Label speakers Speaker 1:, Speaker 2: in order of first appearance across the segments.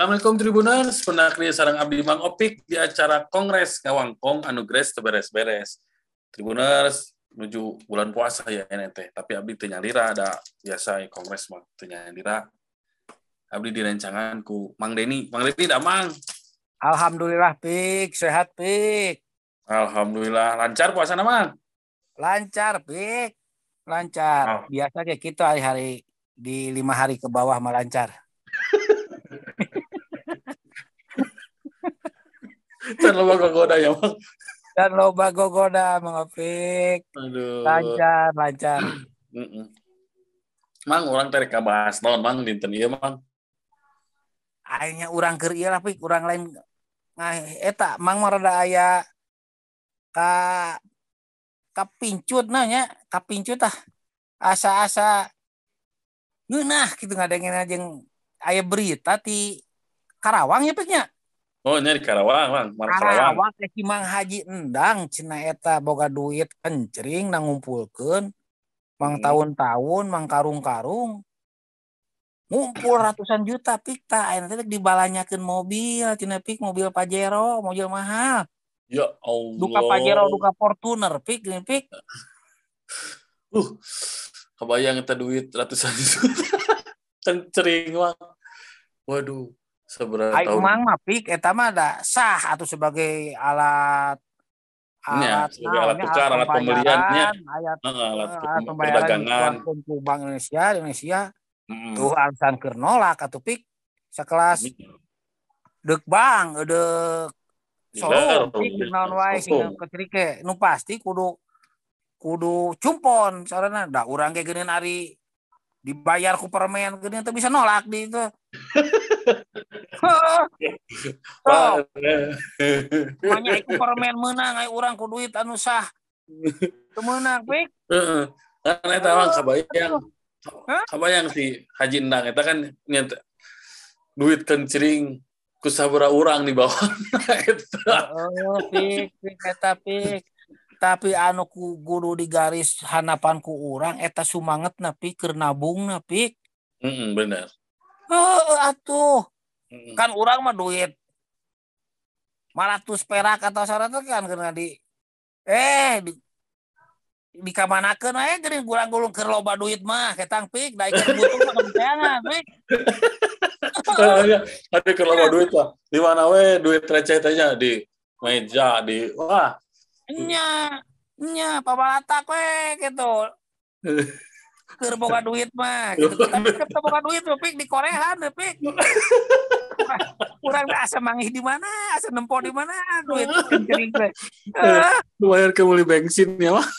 Speaker 1: Assalamualaikum Tribuners, penakri sareng abdi Mang Opik di acara Kongres Ngawangkong anu Gres teu beres-beres. Tribuners menuju bulan puasa ya ini teh, tapi abdi teu nyalira ada biasa Kongres mah teu nyalira. Abdi direncangan ku Mang Deni. Mang Deni da Mang.
Speaker 2: Alhamdulillah Pik, sehat Pik.
Speaker 1: Alhamdulillah lancar puasa Mang.
Speaker 2: Lancar Pik. Lancar. Biasa kayak kita hari-hari di 5 hari ke bawah mah lancar.
Speaker 1: Dan loba gogoda ya Mang.
Speaker 2: Dan loba gogoda Mang Opik.
Speaker 1: Aduh.
Speaker 2: Lancar.
Speaker 1: Mang orang teh rek bahas naon Mang dinten ieu Mang.
Speaker 2: Akhirnya urang keur ieu lah Pik, urang lain eta Mang mah rada aya ka pincut nya, ka pincut tah. Asa-asa ngeunah kitu ngadengeun jeung aya berita ti Karawang ya Piknya.
Speaker 1: Oh, nya di Karawang, Mang.
Speaker 2: Karawang teh Mang Haji Endang cenah eta boga duit kencring ngumpulkeun Mang tahun-tahun, Mang karung-karung. Ngumpul ratusan juta Pik tah ayeuna teh dibalanyakeun mobil cenah Pik, mobil Pajero, mobil mahal.
Speaker 1: Ya Allah.
Speaker 2: Duka Pajero, duka Fortuner Pik.
Speaker 1: Kebayang eta duit ratusan juta. Kencring Mang. Waduh. Seberapa tahun?
Speaker 2: Mang mah Pik eta mah da sah atau sebagai alat
Speaker 1: tukar, alat pembeliannya, alat perdagangan
Speaker 2: ku Bank Indonesia. Tuh alasan keur nolak atuh Pik sakelas deuk bank deuk soru Pik naon wae sing ketrike nu pasti kudu cumpon sarana da urang ge geuneun ari dibayar ku permen geuneun teu bisa nolak di itu. Makanya iku permen menang ai urang ku duit anu sah. Teu meunang Pik.
Speaker 1: Heeh. Kan eta mah kabayang si Haji Endang eta kan duit kencring ku sabaraha urang di bawah eta.
Speaker 2: Pik eta Pik. Tapi anu kudu digaris hanapan ku urang eta sumangetna Pik keur nabungna Pik.
Speaker 1: Bener.
Speaker 2: Atuh. Kan urang mah duit 500 perak atau 100 kan kena di kamanakeun we geuning gulung keur loba duit mah ketang Pik da ikan butuh mah kebeangan Pik.
Speaker 1: Ada keur loba duit lah. Di mana we duit receh teh nya di meja di wah.
Speaker 2: Nya pabalatak we gitu. Keur boga duit mah gitu. Tapi keur boga duit Pik di Koreaan Pik. Urang asa mangih di mana, asa nempo di mana duit kencering teh.
Speaker 1: Bayar ke beli bensin ya mah.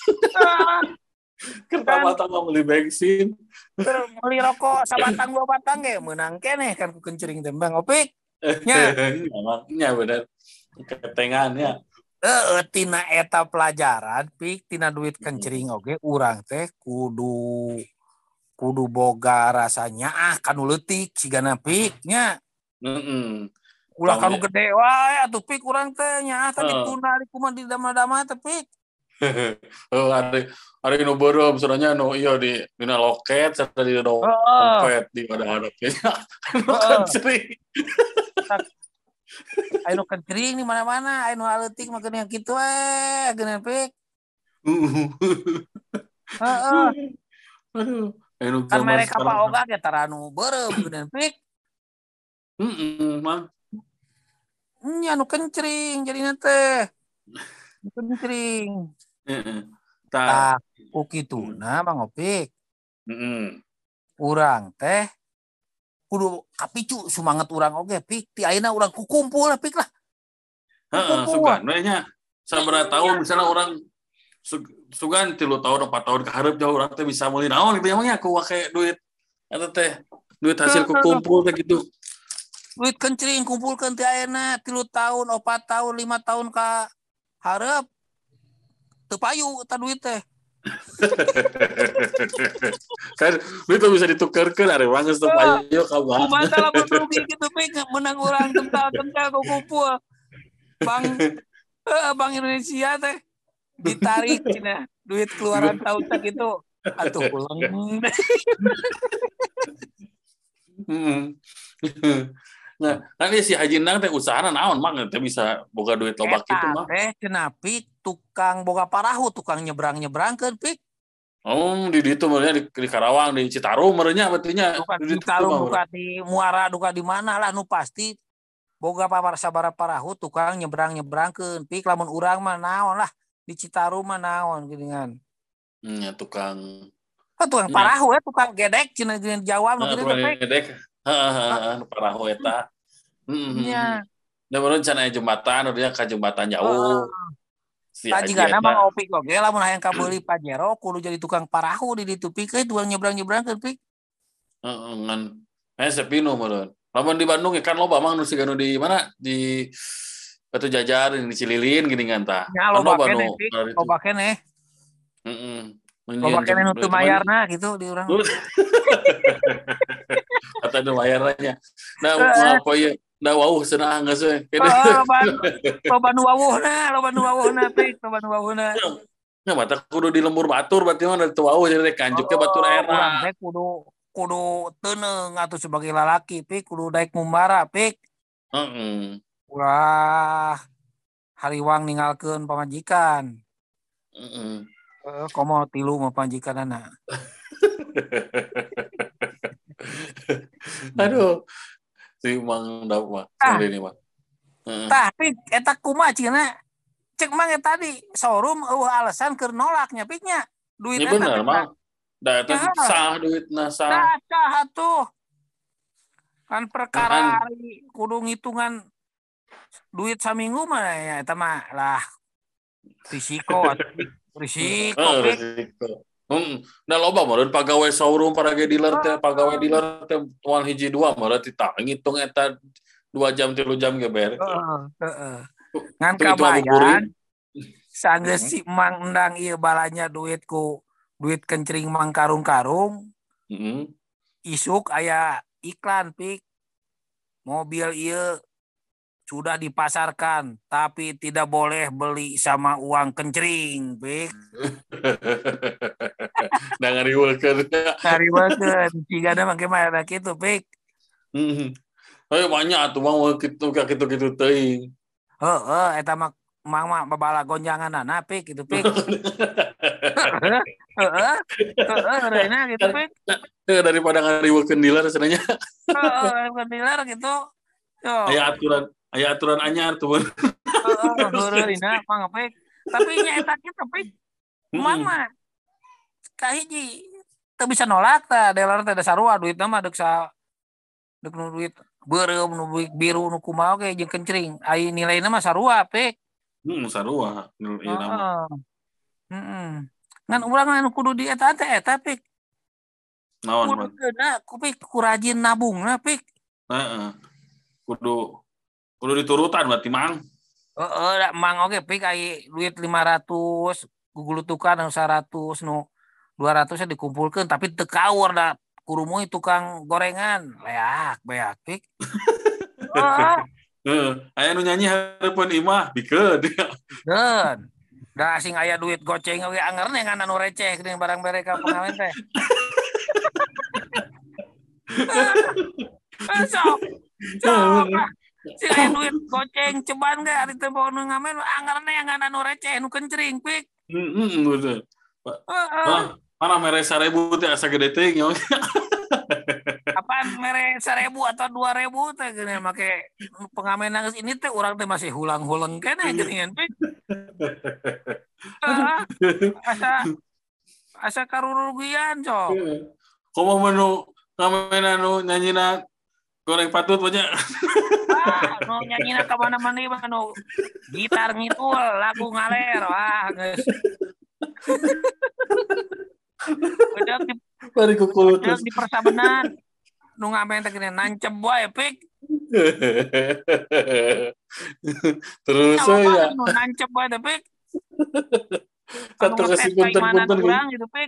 Speaker 1: Kerta mah beli bensin.
Speaker 2: Beli rokok sabatang 2 batang ge meunang keneh kan ku kencering teh Bang Opik. Nya.
Speaker 1: Nya bener. Ketengan ya.
Speaker 2: Tina eta pelajaran Pik tina duit kencering oge urang teh kudu boga rasanya kanu leutik sigana Pik nya. Ulah kanu gede wae atuh Pik urang teh nya tadi tuna di kumaha di dama-dama teh Pik.
Speaker 1: Hari nu beureum soalnya nu ieu di dina loket sarta di dompet di hadap-hadapnya. Kencering.
Speaker 2: Anu kencring di mana-mana, anu leutik mah geuning kitu we, geuning Pik.
Speaker 1: Aduh,
Speaker 2: kan mereka apa oga ge taranu beureum geuning Pik.
Speaker 1: Mang.
Speaker 2: Nya anu kencring jadina teh. Kencring. Tah ku kituna Mang Opik. Urang teh kudu kapicu sumanget urang oge Pik. Ti ayeuna urang kukumpul Pik lah.
Speaker 1: Sugan we nya. Sabaraha tahun misalnya urang sugan 3 tahun 4 tahun ka hareup jauh urang teh bisa meuli naon gitu emangnya ku wake duit eta teh duit hasil kukumpul teh gitu.
Speaker 2: Duit kencring kumpulkeun ti ayeuna 3 tahun 4 tahun 5 tahun ka hareup teu payu eta duit teh.
Speaker 1: Kan duit bisa ditukerkeun ari mah geus teu payu ka bank.
Speaker 2: Kumaha lamun rugi kitu Pik menang urang kental-kental kumpul. Bank Indonesia teh ditarik cenah duit keluaran tahun tak itu atuh ulang.
Speaker 1: Nah, kan si Haji Endang teh usahana naon mang teh bisa boga duit loba kitu mah.
Speaker 2: Teh cenah Pik tukang boga parahu, tukang nyebrang-nyebrangkeun Pik.
Speaker 1: Oh, di ditu meureunnya di Karawang, di Citarum meureunnya berartinya.
Speaker 2: Duka
Speaker 1: Di
Speaker 2: di
Speaker 1: ditu
Speaker 2: Tarum,
Speaker 1: mah.
Speaker 2: duka di Muara, duka di mana lah nu pasti boga sabara parahu tukang nyebrang-nyebrangkeun Pik. Lamun urang mah naon lah di Citarum mah naon geuningan.
Speaker 1: Ya tukang
Speaker 2: Tukang
Speaker 1: nya.
Speaker 2: parahu ya, tukang gedek cenah di Jawa nu kitu teh
Speaker 1: Tukang
Speaker 2: Pik.
Speaker 1: gedek. Heeh, parahu eta.
Speaker 2: Nya.
Speaker 1: Da meureun can aya jembatan, urang ka jembatan
Speaker 2: Heeh.
Speaker 1: jauh. Si
Speaker 2: Tah
Speaker 1: Haji
Speaker 2: jigana
Speaker 1: eta.
Speaker 2: mah Opik oge lamun hayang kabeuli Pajero kudu jadi tukang parahu di ditu Pik, tukang nyebrang-nyebrangkeun Pik.
Speaker 1: Heeh, ngan sepinu meureun. Lamun di Bandung kan loba mang nu siga nu di mana? Di Batu Jajar, di Cililin gini kan tah.
Speaker 2: Nya
Speaker 1: Kan
Speaker 2: loba
Speaker 1: loba
Speaker 2: keneh
Speaker 1: nu
Speaker 2: Pik,
Speaker 1: itu.
Speaker 2: loba keneh.
Speaker 1: Heeh.
Speaker 2: Loba
Speaker 1: Menyian
Speaker 2: keneh nu teu
Speaker 1: itu mah.
Speaker 2: mayarna gitu di urang.
Speaker 1: Kata nu mayarnya. Nah,
Speaker 2: Heeh.
Speaker 1: apa ya? Da wauh cenah geus we.
Speaker 2: Heeh, loba nu wawuhna Pik, loba nu wawuhna.
Speaker 1: Ya, mata kudu di lembur batur berarti mah teu wauh jadi kanjuk ke batur
Speaker 2: Urang
Speaker 1: era.
Speaker 2: teh kudu teuneung atuh sebagai lalaki Pik, kudu daek mumbara Pik.
Speaker 1: Heeh.
Speaker 2: Ulah hariwang ninggalkeun pamajikan.
Speaker 1: Heeh.
Speaker 2: Komo tilu mah pamajikanana.
Speaker 1: Aduh, si Mang Daud mah,
Speaker 2: Ah,
Speaker 1: sering ini mah. Heeh.
Speaker 2: tapi eta kumaha cenah? Cek mang eta di showroom alasan keur nolaknya Piknya. Duit
Speaker 1: Ini
Speaker 2: eta
Speaker 1: bener,
Speaker 2: Pik.
Speaker 1: Mang. Da eta
Speaker 2: Ya,
Speaker 1: sah duitna sah.
Speaker 2: cacah atuh. Kan perkara
Speaker 1: Kan
Speaker 2: hari kudu ngitungan duit saminggu mah ya eta mah lah risiko atuh Pik. Risiko Pik.
Speaker 1: resiko. Nah loba meureun pagawe showroom parage dealer teh, pagawe dealer teh moal hiji dua meureun titah ngitung eta 2 jam 3 jam ge beres.
Speaker 2: Heeh. Ngan
Speaker 1: Itu ngabuburit.
Speaker 2: kabayan sanggeus si Mang Endang ieu balanya duit kencring Mang karung-karung
Speaker 1: Heeh.
Speaker 2: isuk aya iklan Pik. Mobil ieu sudah dipasarkan tapi tidak boleh beli sama uang kencring Pik.
Speaker 1: Da ngariweukeun.
Speaker 2: Ngariweukeun cigana make mah kitu Pik.
Speaker 1: Heeh. Hayu banyak atuh mah kitu ka kitu-kitu teuing.
Speaker 2: Heeh, eta mah Mang mah babala gonjanganana Pik gitu Pik. Heeh. Heeh. Heeh, reuna gitu Pik.
Speaker 1: Daripada ngariweukeun dealer cenanya.
Speaker 2: Heeh, bukan dealer gitu. Yo.
Speaker 1: Aya aturan anyar tuh.
Speaker 2: Heeh, heureurina Mang Pik. Tapi nya eta kitu Pik. Mang
Speaker 1: Heeh.
Speaker 2: mah kahiji teu bisa nolak tah dealer teh da sarua duitna mah deuk nu duit beureum nu duit biru nu kumaha ge jeung kencring. Ai nilaina mah sarua Pik.
Speaker 1: Sarua ieu nama.
Speaker 2: Heeh. Heeh. Ngan urang anu kudu di eta teh eta Pik.
Speaker 1: Naon,
Speaker 2: Kudu
Speaker 1: Man?
Speaker 2: geuna ku Pik ku rajin nabungna Pik.
Speaker 1: Heeh. Kudu diturutan berarti, Mang.
Speaker 2: Heeh, da Mang oge Pik ai duit 500 gugulutukan anu 100 nu 200 nya dikumpulkeun tapi teu kaur da kurumuy tukang gorengan. Beak Pik. Heeh.
Speaker 1: Heeh. Aya nu nyanyi hareupeun imah bikeun.
Speaker 2: Dan da asing aya duit goceng oge angeurna ngan anu receh geuning barang bere ka pengawen teh. Sok. Sok. Si aya duit goceng ceban ge ari teu bawa nu ngamen angeurna ngan anu receh nu kencring Pik.
Speaker 1: Bener.
Speaker 2: Heeh.
Speaker 1: Mana mere 1000 teh asa gede teuing nya.
Speaker 2: Apaan mere 1.000 atau 2.000 teh geuning make pengamen nangis ini teh urang teh masih hulang-huleng keneh geuningan Pik. Heeh. Asa karurugian sok.
Speaker 1: Komo menu ngamen anu nyanyina goreng patut banyak.
Speaker 2: Nu nyanyina ka mana-mana ieu nu gitar ngitul lagu ngaler geus.
Speaker 1: Bari
Speaker 2: Beudeup
Speaker 1: kukulutus.
Speaker 2: di persabenan. Nu ngamen teh geuning nancep wae Pik.
Speaker 1: Terus ya.
Speaker 2: Nu nancep wae teh Pik. Anu
Speaker 1: Satu
Speaker 2: ngetes
Speaker 1: kasih
Speaker 2: keimanan
Speaker 1: punten-punten
Speaker 2: urang gitu Pik.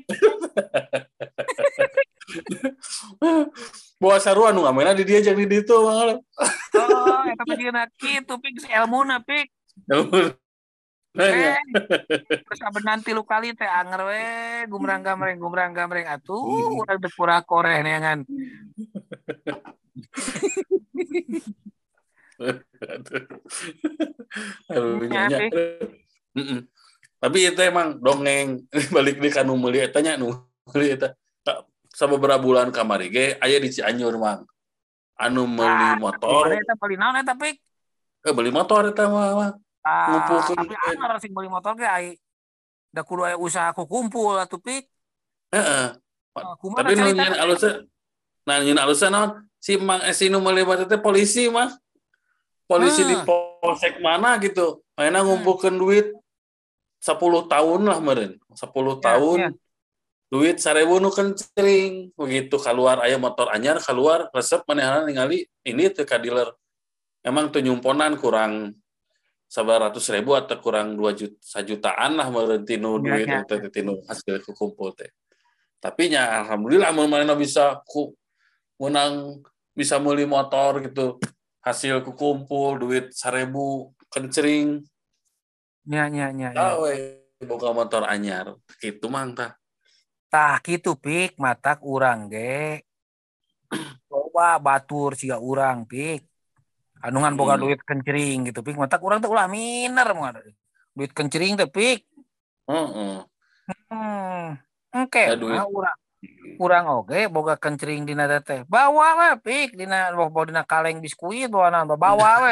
Speaker 1: bawa sarua nu ngamena di dia jeung di ditu mah.
Speaker 2: Oh, eta teh dieuna kitu Pik ilmuna Pik.
Speaker 1: Nanya.
Speaker 2: Persabenan 3 kali teh anger we gumrang gamreng atuh urang teu kurang koreh neangan.
Speaker 1: Aduh,
Speaker 2: Ya,
Speaker 1: nyanyi.
Speaker 2: Pik.
Speaker 1: Tapi itu emang dongeng balik di kanu meuli eta nya nu meuli eta. Sababaraha bulan kamari ge aya di Cianjur mang. Anu meuli
Speaker 2: Gimana
Speaker 1: motor,
Speaker 2: eta beli naon eta, Pik?
Speaker 1: beli motor eta mah. Ngumpulkeun
Speaker 2: Tapi anyar sing beli motor ge ai da kudu aya usaha kumpul atuh, Pik.
Speaker 1: heeh.
Speaker 2: Kumaha
Speaker 1: Tapi nu
Speaker 2: carita
Speaker 1: nyeun
Speaker 2: teh?
Speaker 1: alusna, nah nyeun alusna naon? Si Mang Esi nu meuli motor teh polisi mah. Polisi di
Speaker 2: Heeh.
Speaker 1: polsek mana gitu. Ayeuna
Speaker 2: Hmm.
Speaker 1: ngumpulkeun duit 10 tahun lah meureun. 10
Speaker 2: Ya, ya.
Speaker 1: tahun duit 1.000 nu kencring begitu keluar aya motor anyar keluar resep manehna ningali ini teh ka dealer emang tuh nyumponan kurang 900.000 atau kurang 2 jutaan lah meureun tinu
Speaker 2: Ya,
Speaker 1: duit
Speaker 2: ya.
Speaker 1: teh tinu hasil kumpul teh tapi nya alhamdulillah mun manehna bisa menang bisa meuli motor gitu hasil kumpul duit 1.000 kencring
Speaker 2: Ya, ya, ya, ya.
Speaker 1: gawe boga motor anyar gitu mang tah.
Speaker 2: Tah kitu, Pik, matak urang ge. Coba batur siga urang, Pik. Anungan boga duit kencering gitu, Pik. Matak urang teh ulah miner moal. Duit kencering teh, Pik.
Speaker 1: Heeh.
Speaker 2: Engke
Speaker 1: Ya
Speaker 2: mah
Speaker 1: duit.
Speaker 2: urang oge boga kencering dina teh. Bawa we, Pik, dina kaleng biskuit bawa we.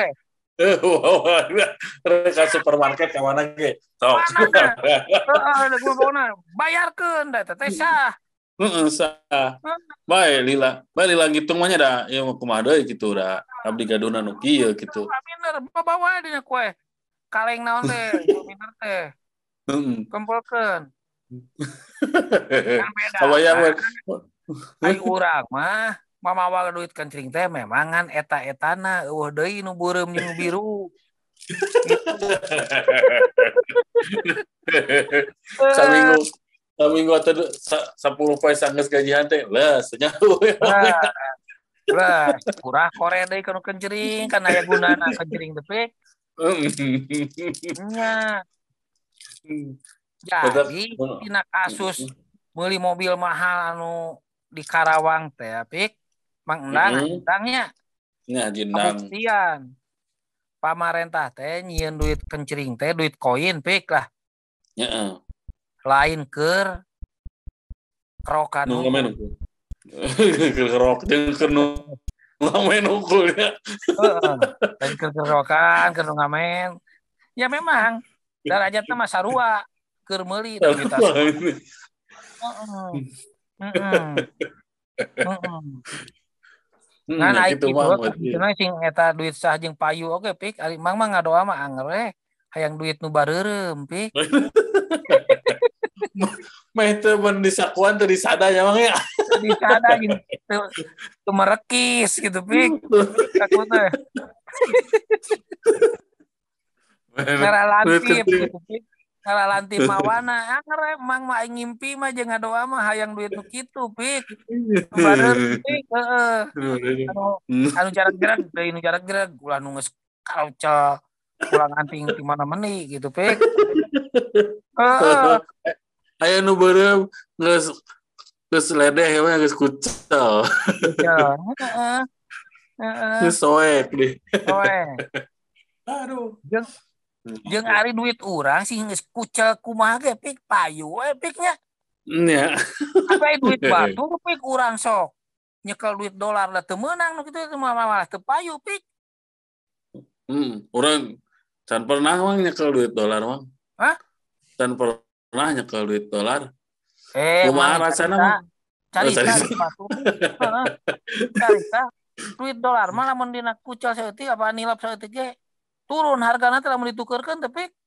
Speaker 1: Ke supermarket ke mana ge? Sok.
Speaker 2: Mana? Heeh, gua bawa bayarkeun da teh sah.
Speaker 1: Heeh, sah. Bae lila ngitung mah nya da ieu kumaha deui kitu da. Abdi gaduna nu kieu kitu.
Speaker 2: Miner, bawa dina kue. Kaleng naon teh, miner teh.
Speaker 1: Heeh.
Speaker 2: Kumpulkeun. Kan beda.
Speaker 1: Kabayang we.
Speaker 2: Ai urang mah mamawa duit kencring teh memangan eta-etana eueuh deui nu beureum jeung nu biru. Gitu.
Speaker 1: Saminggu saminggu atau 10 poe sanggeus gajian teh leus nya.
Speaker 2: Lah, kurang kore deui kana kencring kan aya gunana kencring teh, Pik. Nya. Jadi tina kasus meuli mobil mahal anu di Karawang teh, Pik. Mang Endangnya
Speaker 1: Nya jindang.
Speaker 2: kabuktian. Pamarentah teh nyieun duit kencring teh duit koin, Pik lah.
Speaker 1: Heeh.
Speaker 2: Lain keur kerokan
Speaker 1: Nu
Speaker 2: hukum.
Speaker 1: ngamen hukum. Kerok jeung keur nu ngamen hukumnya.
Speaker 2: Heeh. Lain keur kerokan, keur ngamen. Ya memang derajatna mah sarua keur meuli duit asal. Heeh. Heeh. Heeh. Ngan aing
Speaker 1: Gitu
Speaker 2: kitu cenah sing eta duit sah jeung payu oge, Pik. Ari mang mah ngadoa mah anger we. Hayang duit nu bareureum, Pik.
Speaker 1: Mah itu mun disakuan teu disada nya mang ya.
Speaker 2: Disada jeung teu merekis gitu, Pik. Aku teh. Ngaralantip gitu, Pik. Ngaralantip mawana anger we mang mah aing ngimpi mah jeung ngadoa mah hayang duit nu kitu, Pik. Nu bareureum, Pik. Heeh. Anu jarak-jarak deui nu jarak-jarak ulah nu geus kalcel pulang anting di mana meni gitu, Pik. Heeh.
Speaker 1: Aya nu beureum geus ledeh we geus kucel.
Speaker 2: Heeh. Heeh.
Speaker 1: Geus soek deh.
Speaker 2: Oe.
Speaker 1: Aduh.
Speaker 2: Jeung ari duit urang sih geus kucel kumaha ge, Pik, payu we, Pik nya.
Speaker 1: Nya.
Speaker 2: Apa duit batu, Pik, urang sok nyekel duit dolar lah teu meunang nu kitu malah teu payu, Pik.
Speaker 1: Urang can pernah mang nyekel duit dolar mang.
Speaker 2: Hah?
Speaker 1: Can pernah nyekel duit dolar.
Speaker 2: Kumaha
Speaker 1: rasana mah?
Speaker 2: Carita batu. Heeh. Carita duit dolar mah lamun dina kucel saeutik apa nilap saeutik ge turun hargana teh lamun ditukeurkeun teh, Pik.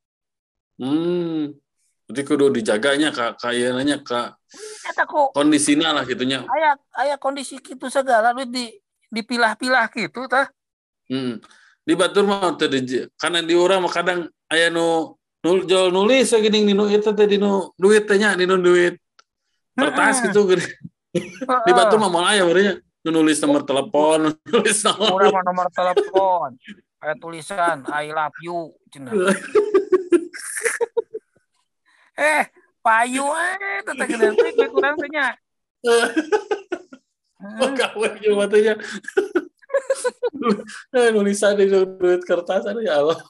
Speaker 1: Jadi kudu dijaganya kayaknya nya
Speaker 2: Eta ku
Speaker 1: kondisina lah gitunya.
Speaker 2: aya kondisi kitu segala duit dipilah-pilah gitu tah.
Speaker 1: Di batur mah teh karena di urang mah kadang aya nu jual nulis geuning dinu eta teh dinu duit teh nya dinu duit kertas gitu geuning. Di batur mah moal aya urang nulis nomor telepon, nulis
Speaker 2: nomor telepon. Aya tulisan I love you cenah. Payu teteh gedean Pik urang teh nya.
Speaker 1: Oh, kawe jeung batanya. Nulisan di duit kertas ya Allah.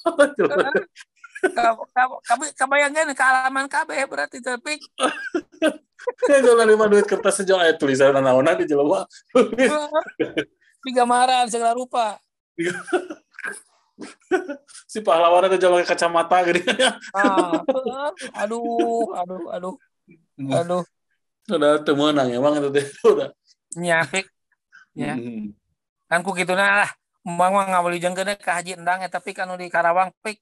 Speaker 2: Kabayangkan ke halaman KB berarti tapi
Speaker 1: Kalau lima duit kertas sejauh tulisan naon di jelema.
Speaker 2: digamaran segala rupa.
Speaker 1: Si pahlawan ada jalan kacamata gini.
Speaker 2: Aduh.
Speaker 1: Udah temenang emang itu udah.
Speaker 2: Nyapik. Ya. Kan ku kituna lah. Mang ngawali jengkeun ka Haji Endang tapi kan di Karawang pik.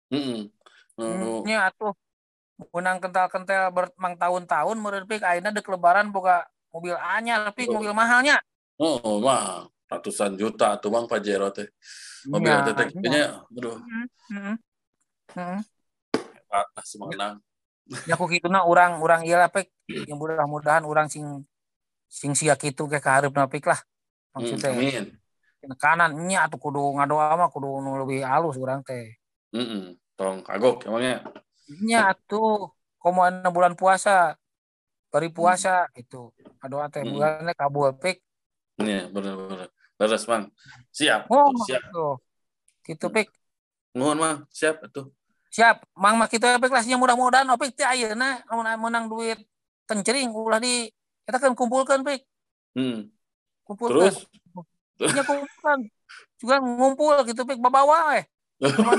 Speaker 2: Nya atuh menang kental-kental mang tahun-tahun meureun pik ayeuna deuk lebaran boga mobil anyar pik mobil mahalnya.
Speaker 1: Oh, mah ratusan juta tuh Bang Pajero teh. Mobil teh kayaknya aduh. Hebat semangat.
Speaker 2: Ya ku kituna urang ieu lah pik yang mudah-mudahan urang sing sia kitu ke kahareupna pik lah. Maksudnya.
Speaker 1: Amin.
Speaker 2: Kanan nya atuh kudu ngadoa mah kudu nu leuwih alus urang teh.
Speaker 1: Tong kagok emangnya.
Speaker 2: Nya atuh komoan bulan puasa. Bari puasa gitu. Ngadoa teh bulanna kabul pik.
Speaker 1: Iya, benar. Beres, Bang. Siap. Siap.
Speaker 2: Gitu pik.
Speaker 1: Nuhun, Bang. Siap atuh.
Speaker 2: Siap. Mang mah kitu pik lah mudah-mudahan opik teh ayeuna menang duit kencering ulah di kita kan kumpulkan pik. Kumpulkan.
Speaker 1: Terus?
Speaker 2: Ya kumpulkan. Juga ngumpul gitu pik babawa Mana?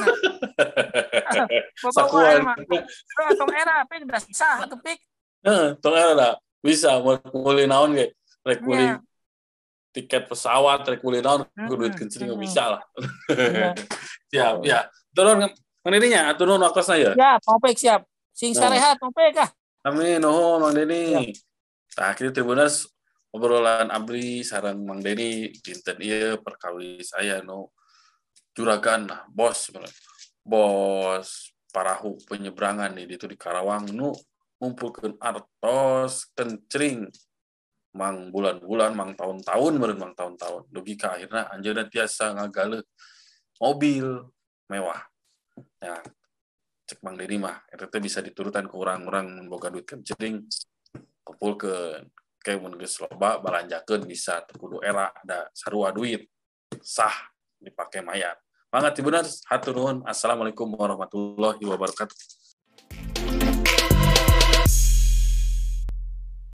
Speaker 1: Sakuan.
Speaker 2: Tong era pik udah sah atuh pik.
Speaker 1: Tong era dah bisa mau kuli naon ge. Rek kuli tiket pesawat, rek kuli naon duit kencering bisa lah. Siap, ya. Turun ngeninya turun wakosna ya.
Speaker 2: Ya, mau pik siap. Sing sarehat mau pik ah.
Speaker 1: Amin, nuhun Mang Deni. Tah kitu Tribuners obrolan abdi sareng Mang Deni dinten ieu perkawis aya nu juragan lah bos parahu penyeberangan nih itu di Karawang nu ngumpulkeun artos kencring mang bulan-bulan mang tahun-tahun meureun mang tahun-tahun dugi ka akhirna anjeunna tiasa ngagaleuk mobil mewah ya cek Mang Deni mah eta teh bisa diturutan ke urang-urang boga duit kencring kumpulkeun kayak mun geus loba balanjakeun bisa kudu era ada sarua duit sah dipakai mayat. Banget Tribuners, hatur nuhun. Assalamualaikum warahmatullahi wabarakatuh.